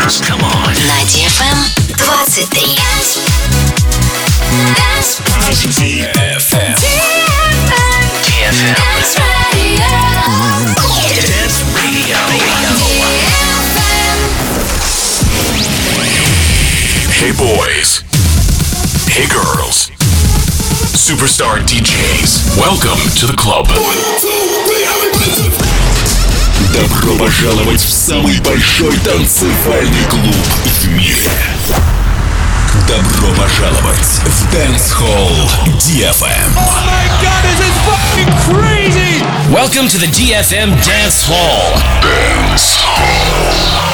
dance. Come on. На DFM 23. DFM. Dance Radio. Dance Radio. Hey boys. Hey girls. Superstar DJs. Welcome to the club. Добро пожаловать в самый большой танцевальный клуб в мире. Добро пожаловать в Dance Hall DFM. Oh my god, this is fucking crazy! Welcome to the DFM Dance Hall. Dance Hall.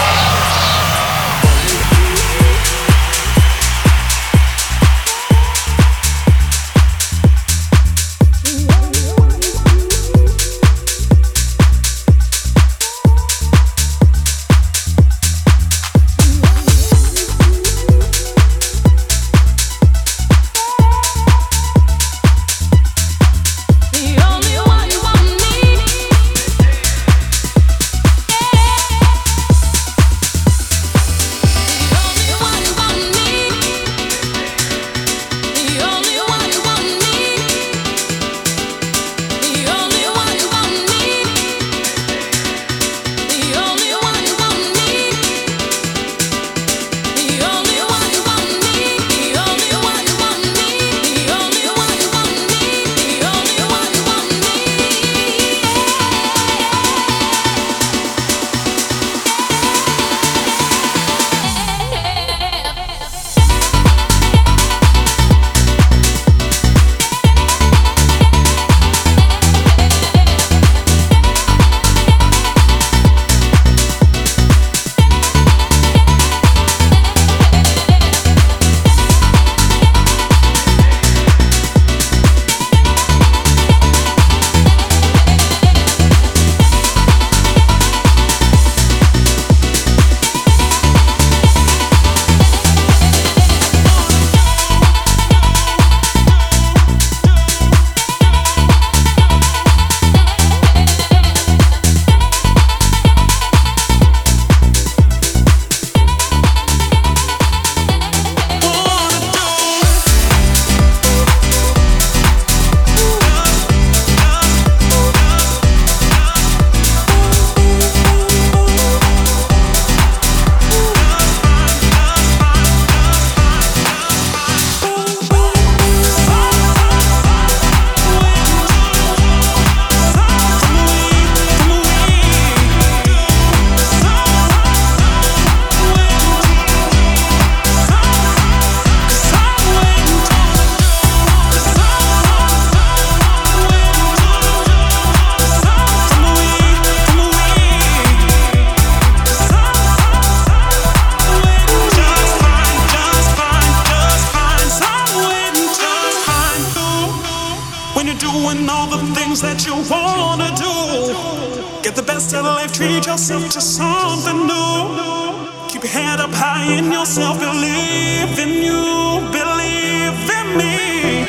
To something new. Keep your head up high in yourself. Believe in you, believe in me.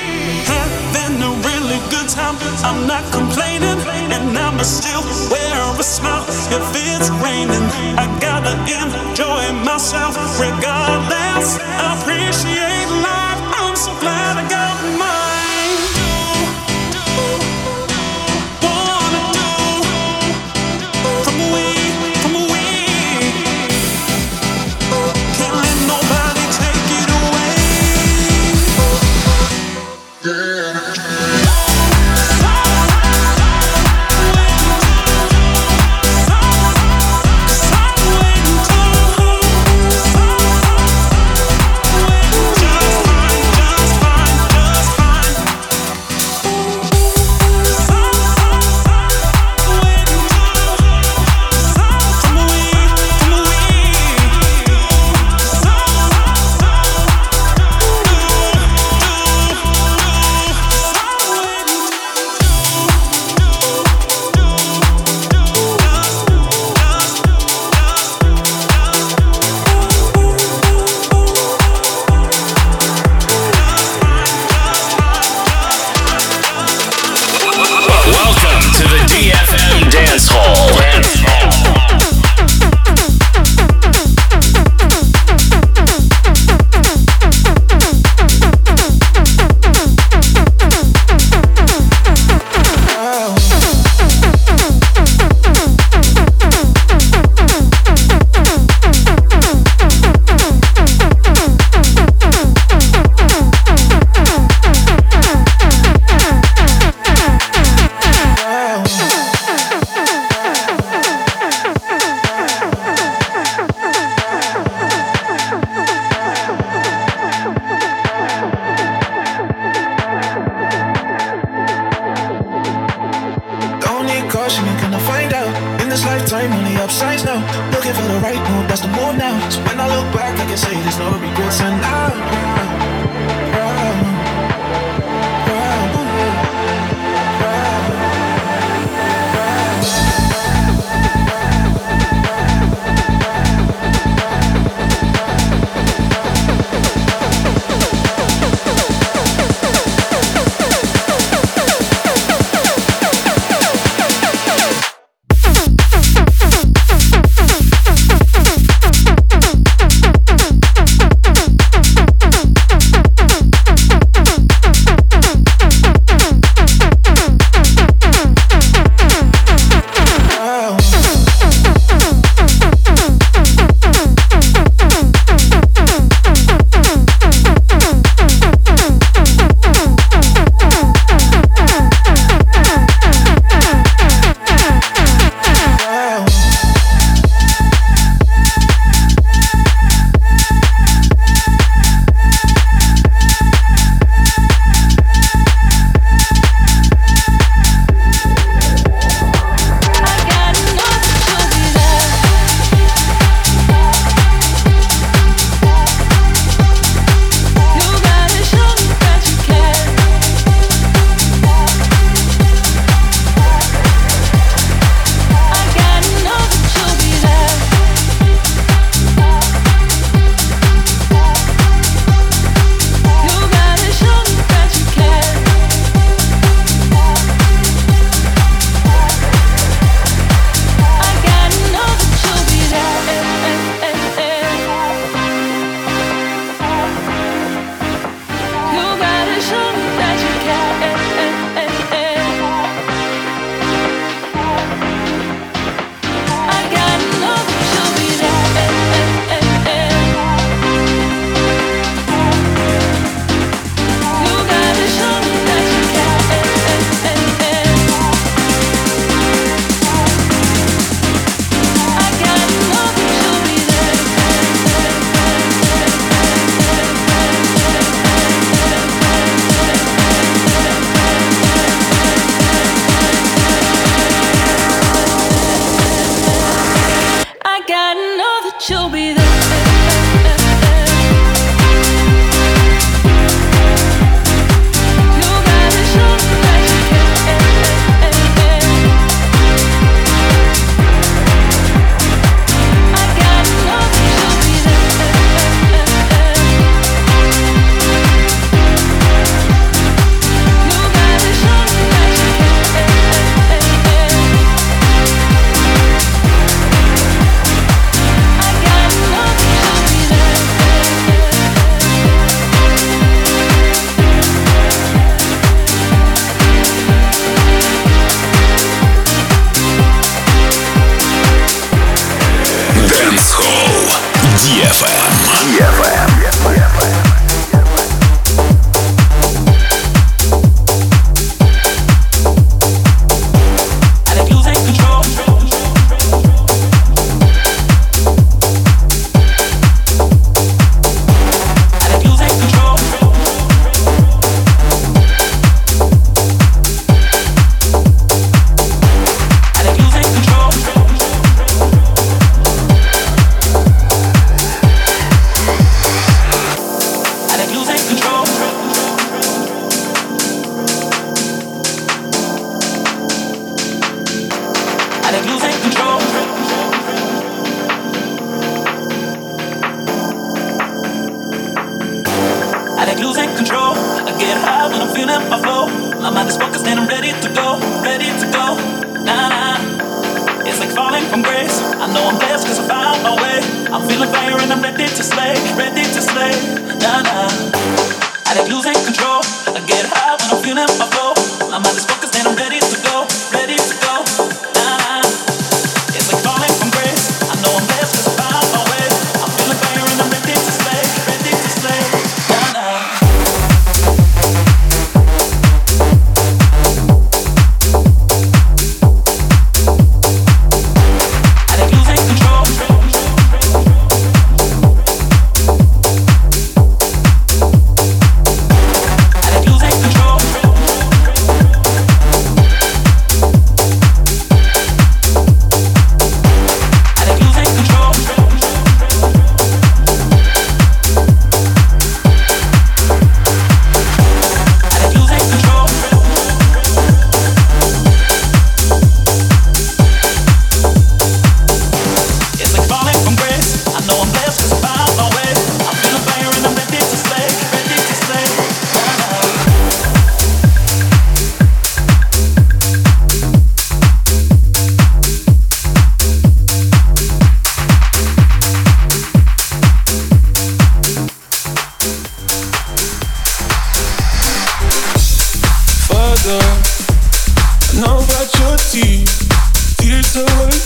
Having a really good time. I'm not complaining, and I'ma still wear a smile if it's raining. I gotta enjoy myself regardless. I appreciate life. I'm so glad I got mine. Past lifetime on the upsides now. Looking for the right move, that's the move now. So when I look back, I can say there's no regrets. And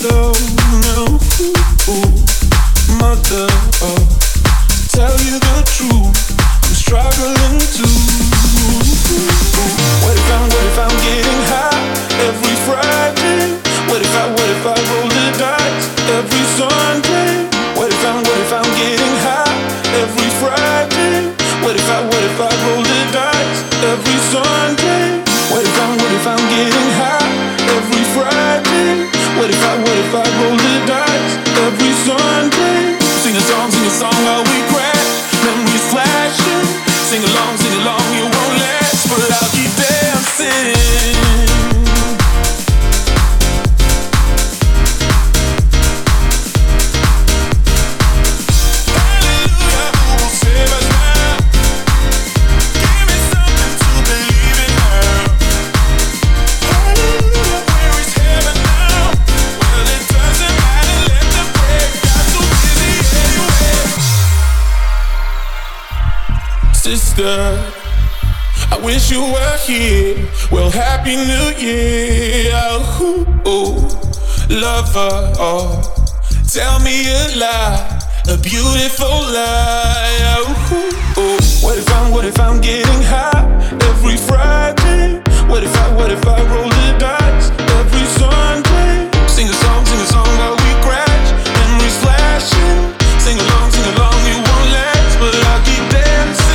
slow now. Mother, tell you the truth, I'm struggling too. What if I'm getting high every Friday? What if I roll the dice every Sunday? What if I'm getting high every Friday? What if I roll the dice every Sunday? What if I'm getting high every Friday? What if I roll the dice every Sunday? Sing a song while we crash, memories flashing. Sing along, you won't last, but I'll keep dancing. Sister, I wish you were here. Well, Happy New Year. Ooh, lover, tell me a lie, a beautiful lie. Ooh, what if I'm getting high every Friday? What if I roll the dice every Sunday? Sing a song while we crash, memories flashing. Sing along, you won't last, but I'll keep dancing.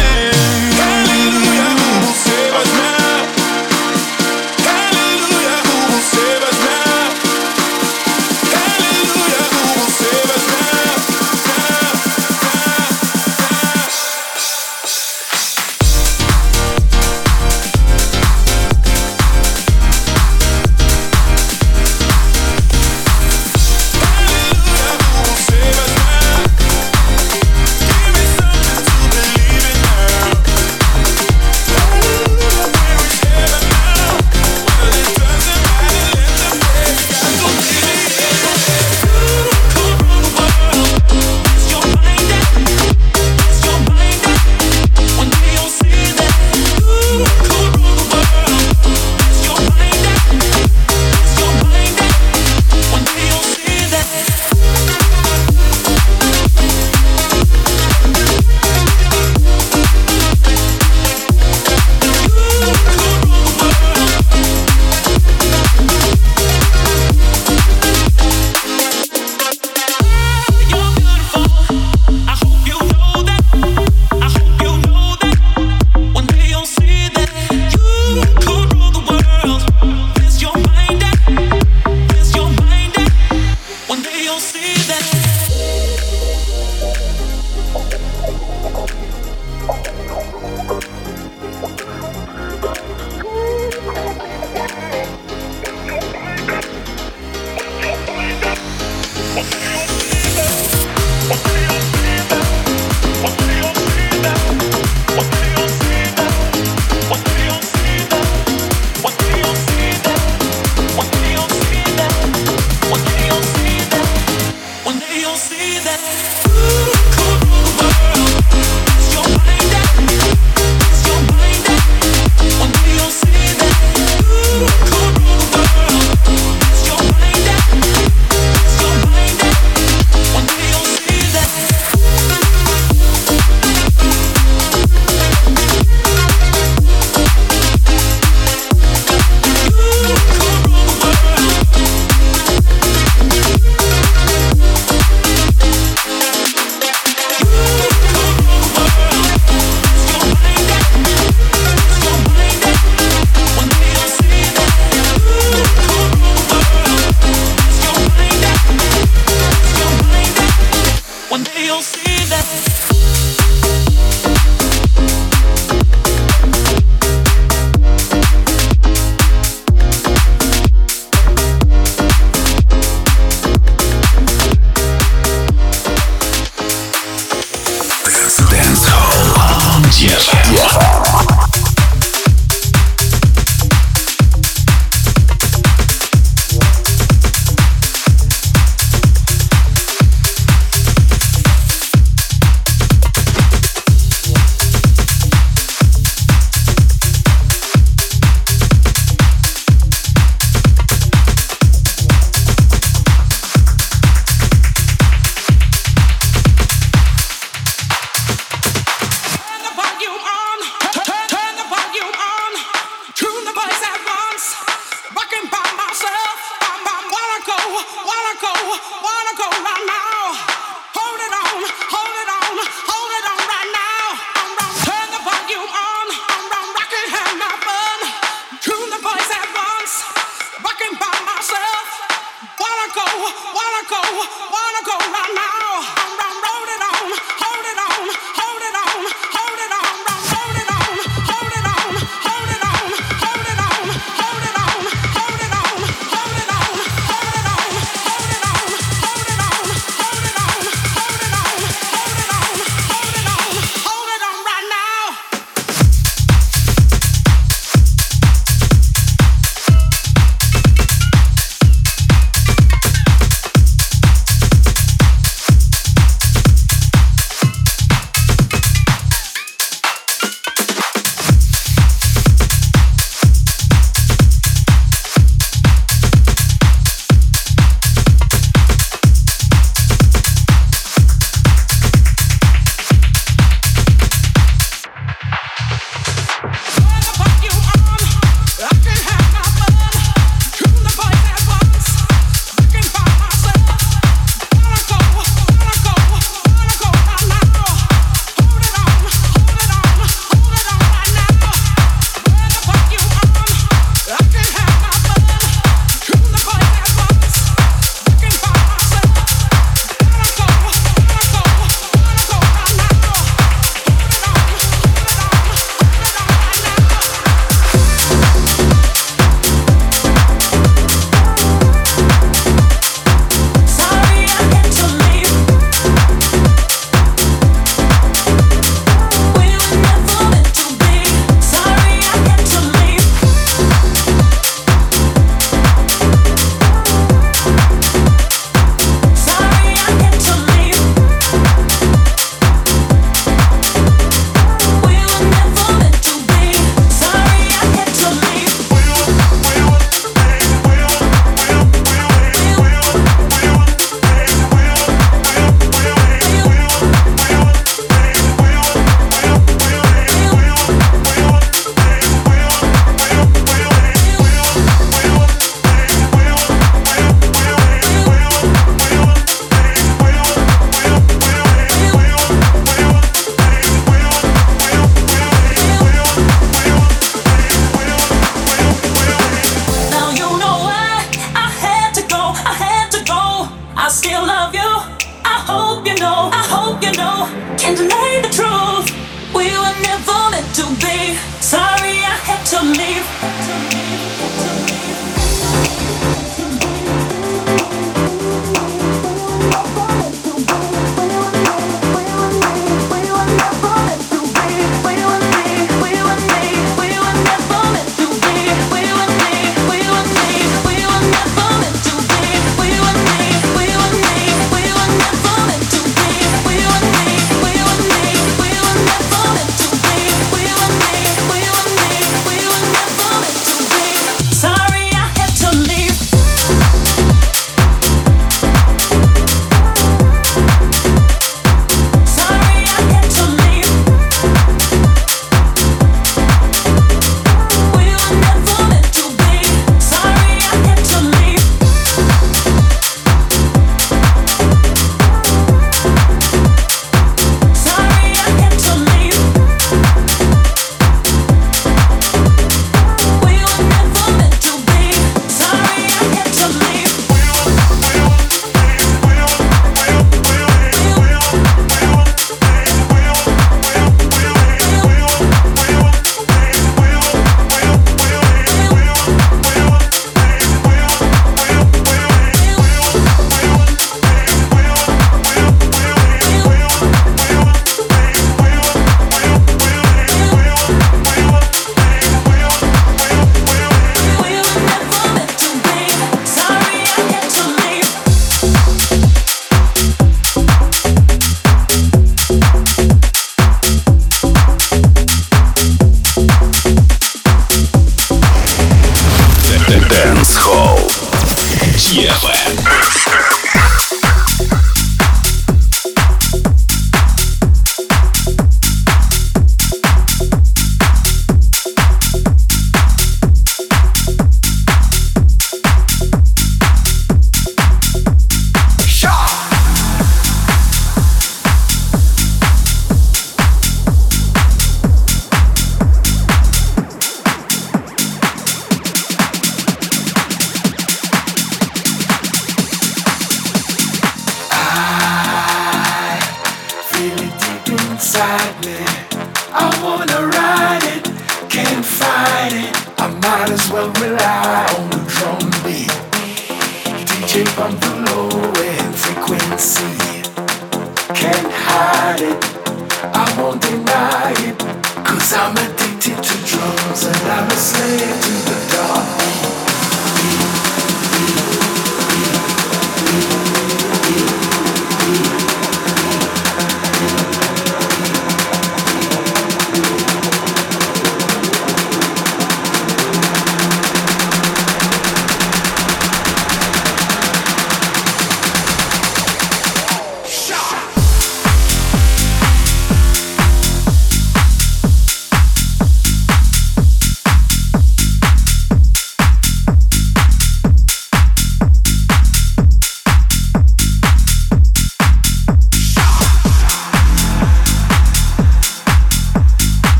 might as well rely on the drum beat. DJ bump the low end frequency. Can't hide it, I won't deny it. Cause I'm addicted to drums and I'm a slave to the dark beat.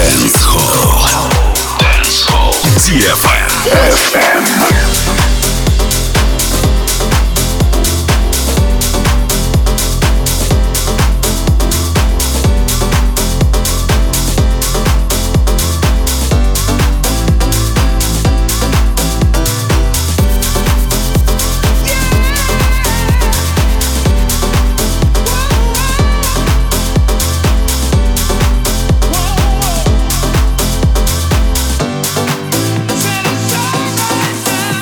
Dance Hall. DFM. Said it's alright.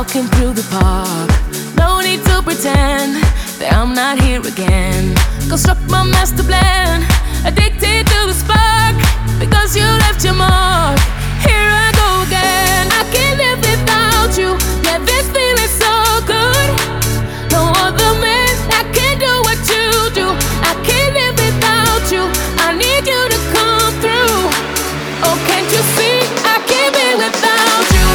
walking through the park. No need to pretend that I'm not here again. Construct my master plan, addicted to the spark. Because you left your mark, here I go again. I can't live without you, yeah, this feeling so good. No other man that can do what you do. I can't live without you, I need you to come through. Oh, can't you see, I can't be without you.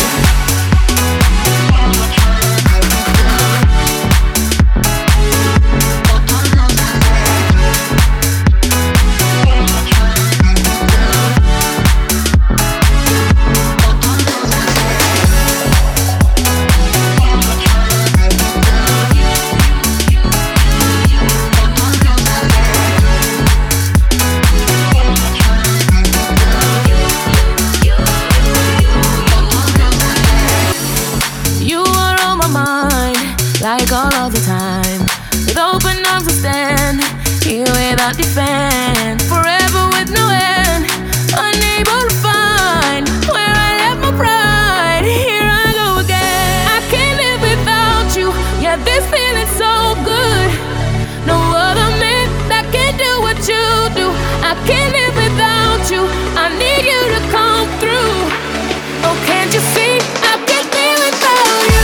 Like all of the time, with open arms I stand here without defense, forever with no end, unable to find where I left my pride. Here I go again. I can't live without you, yeah, this feeling's so good. No other man that can do what you do. I can't live without you, I need you to come through. Oh, can't you see, I can't be without you.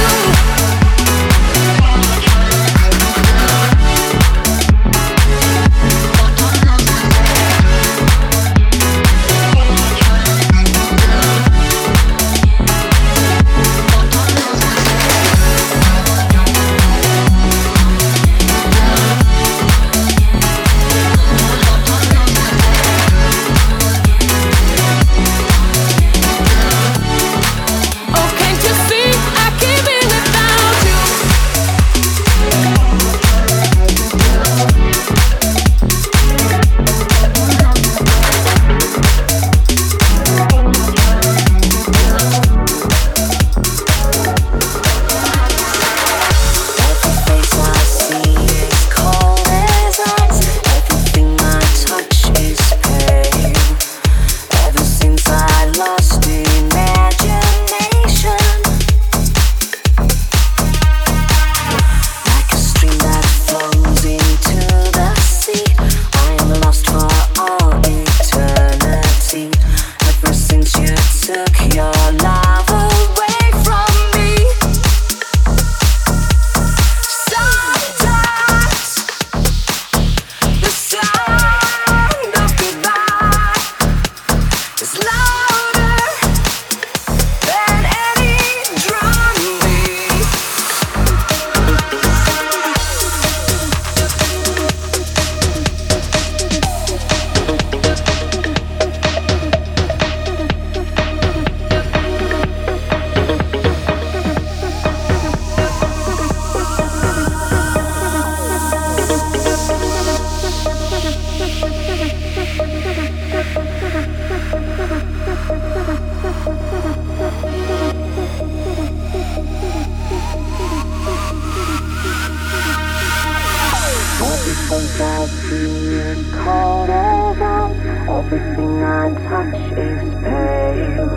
Everything I touch is pale.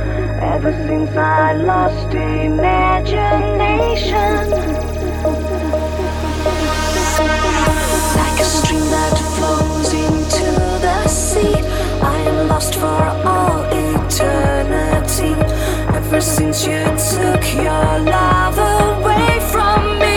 Ever since I lost imagination, like a stream that flows into the sea, I am lost for all eternity. Ever since you took your love away from me.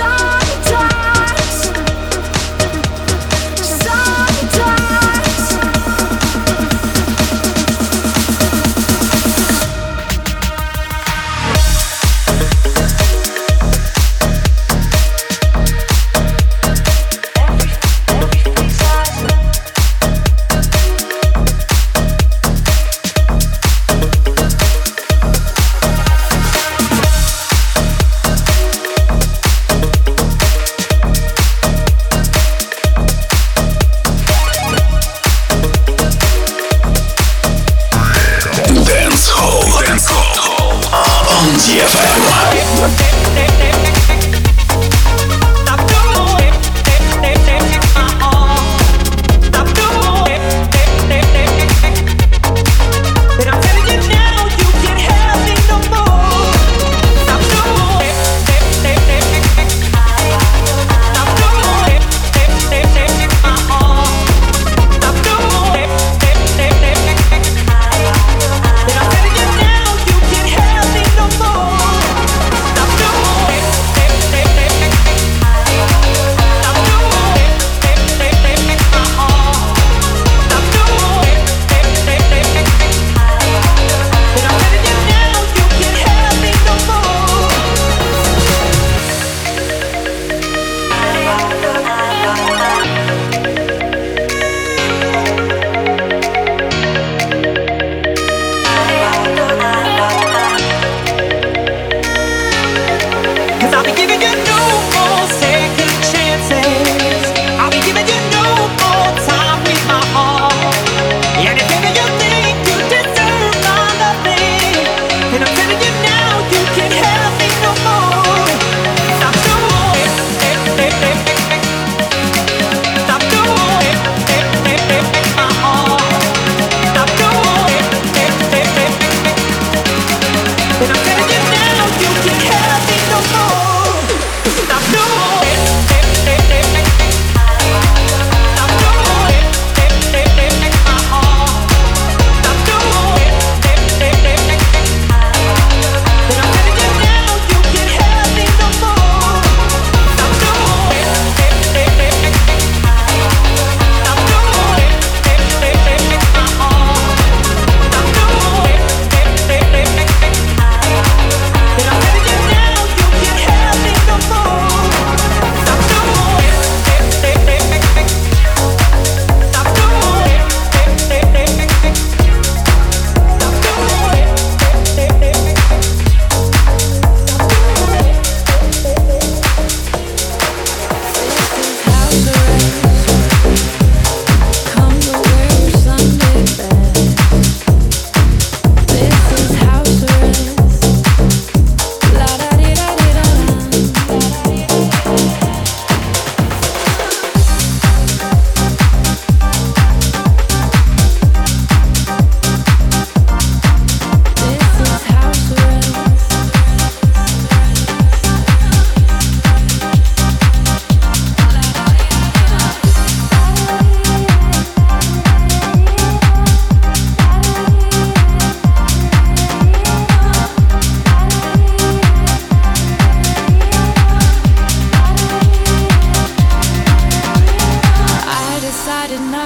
Sometimes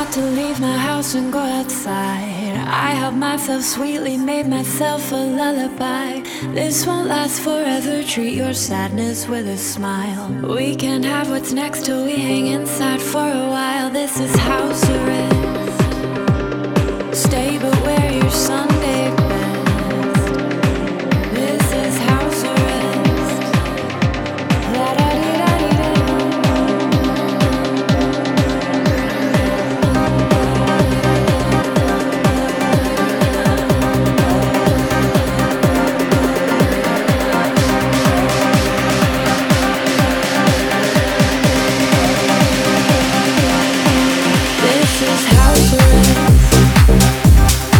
had to leave my house and go outside. I helped myself sweetly, made myself a lullaby. This won't last forever, treat your sadness with a smile. We can have what's next till we hang inside for a while. This is house arrest. Stay but wear your Sunday best. This is house arrest. La-da-dee-da-dee-da. This is house arrest.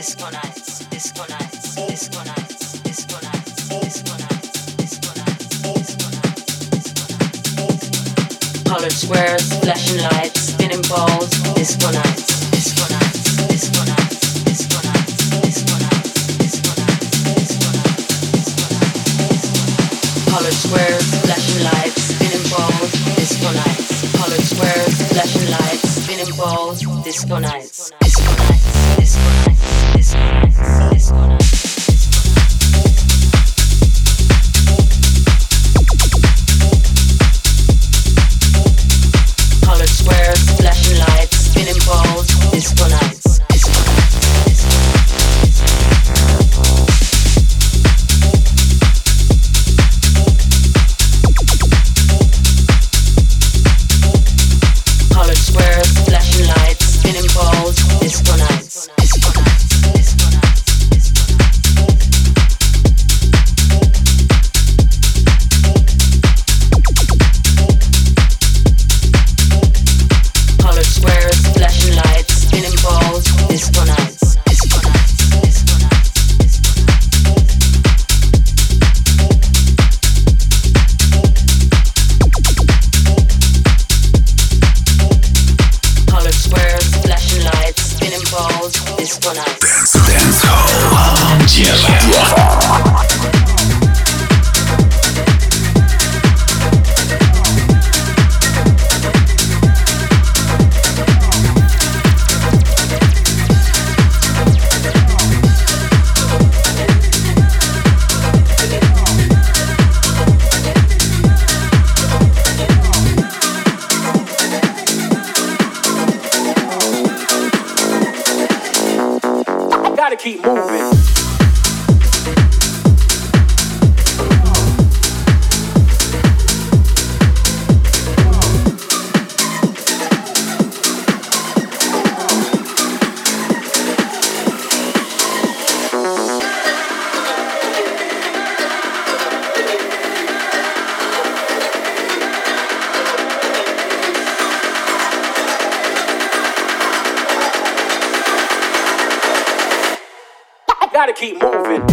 disco nights, disco nights, disco nights, disco nights, disco nights, disco nights, disco nights. Colored squares, flashing lights, spinning balls, disco nights, disco nights, disco nights, disco nights, disco nights, disco nights, disco nights. Colored squares, flashing lights, spinning balls, disco nights. Colored squares, flashing lights, spinning balls, disco nights, disco nights, disco nights, disco nights, disco nights. Colored squares, flashing lights, spinning balls, disco nights, disco nights, disco colored squares, flashing lights, spinning balls, disco nights, disco nights, disco nights, disco nights. Colored squares, flashing lights, spinning balls, disco nights, disco nights, disco nights, disco nights. Colored squares, flashing lights, spinning balls, disco nights. Dance Hall. Gotta keep moving. Gotta keep moving.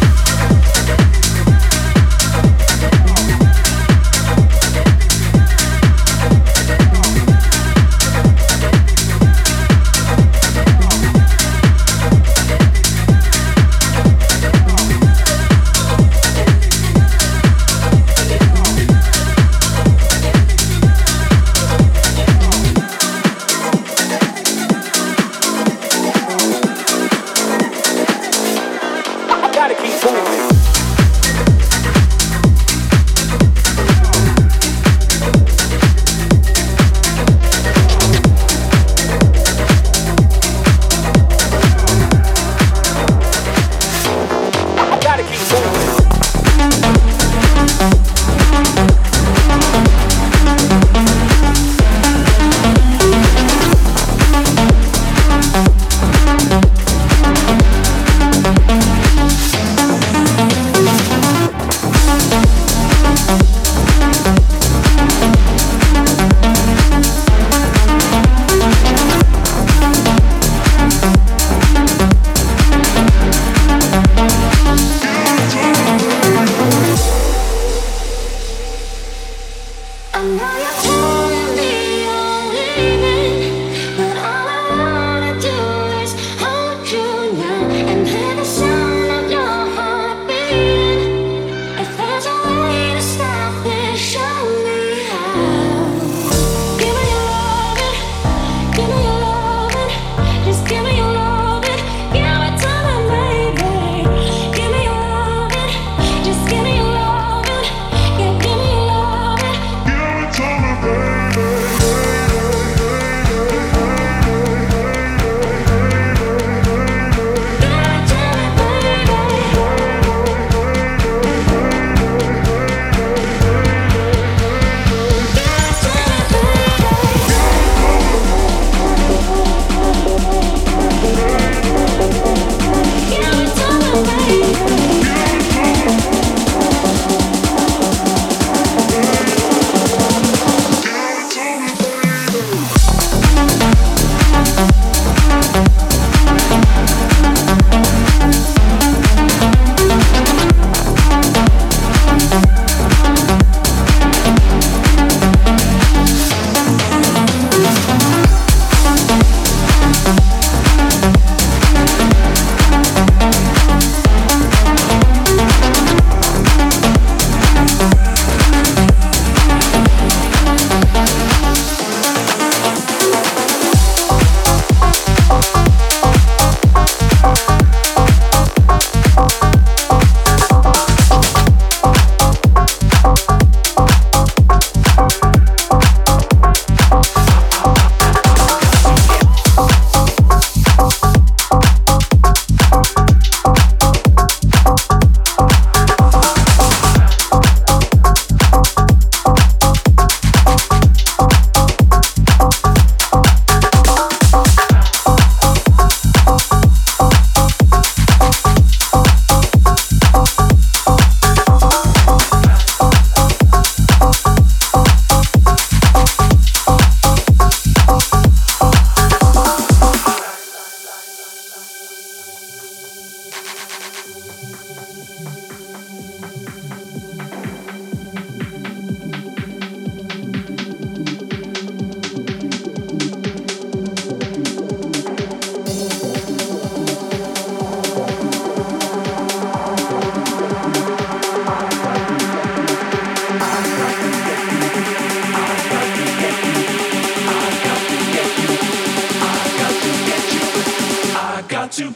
Gotta keep moving. Gotta keep moving. I know you're telling me you're leaving, but all I wanna do is hold you now and hear the sound of your heart beating. If there's a way to stop this, show me how. Give me your loving, give me your loving, just give me your loving, give it to me, baby. Give me your loving, just give me your loving, yeah, give me your loving. Give it to me,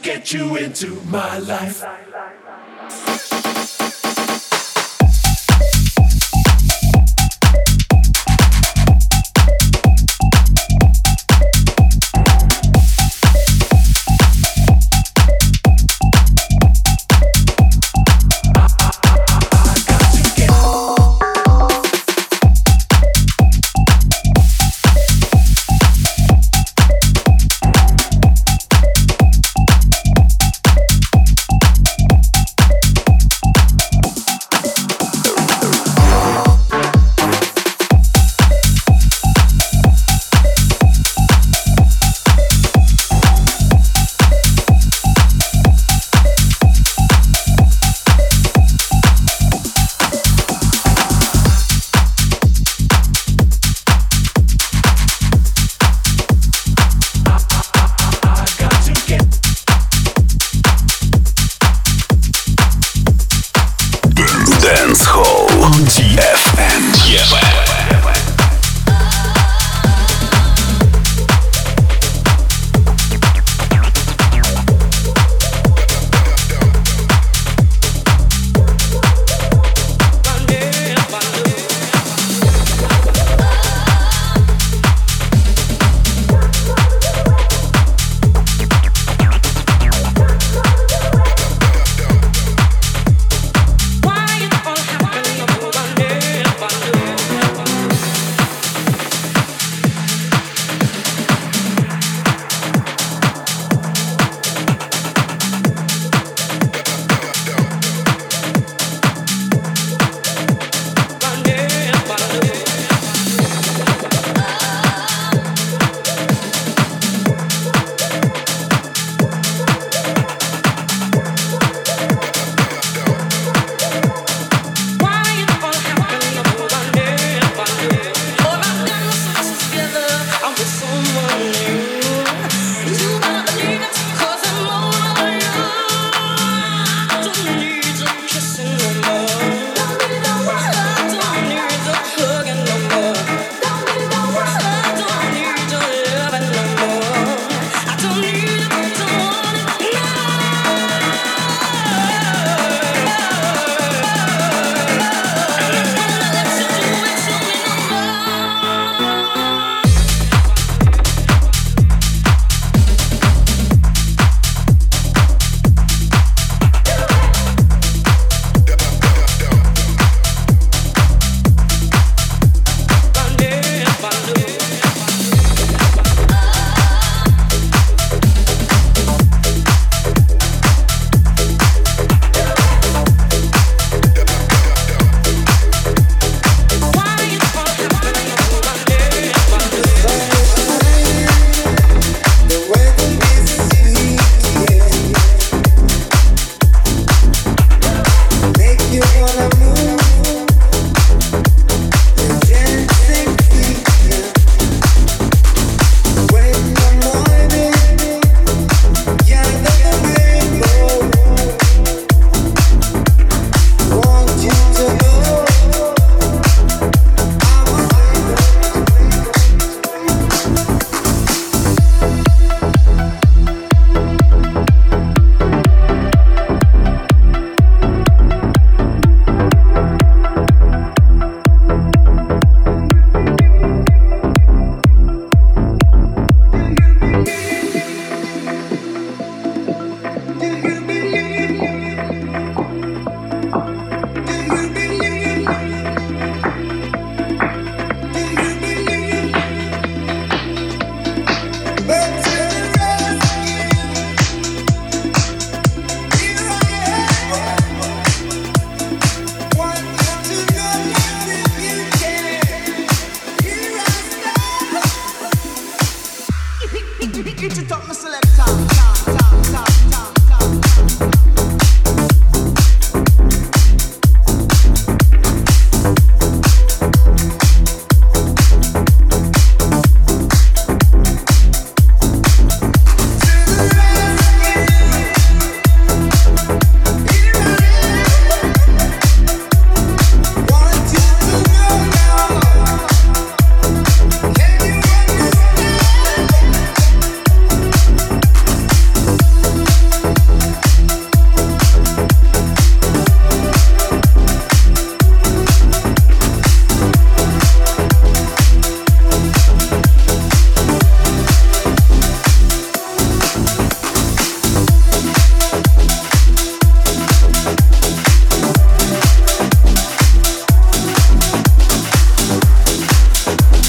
get you into my life. Get your top, my select.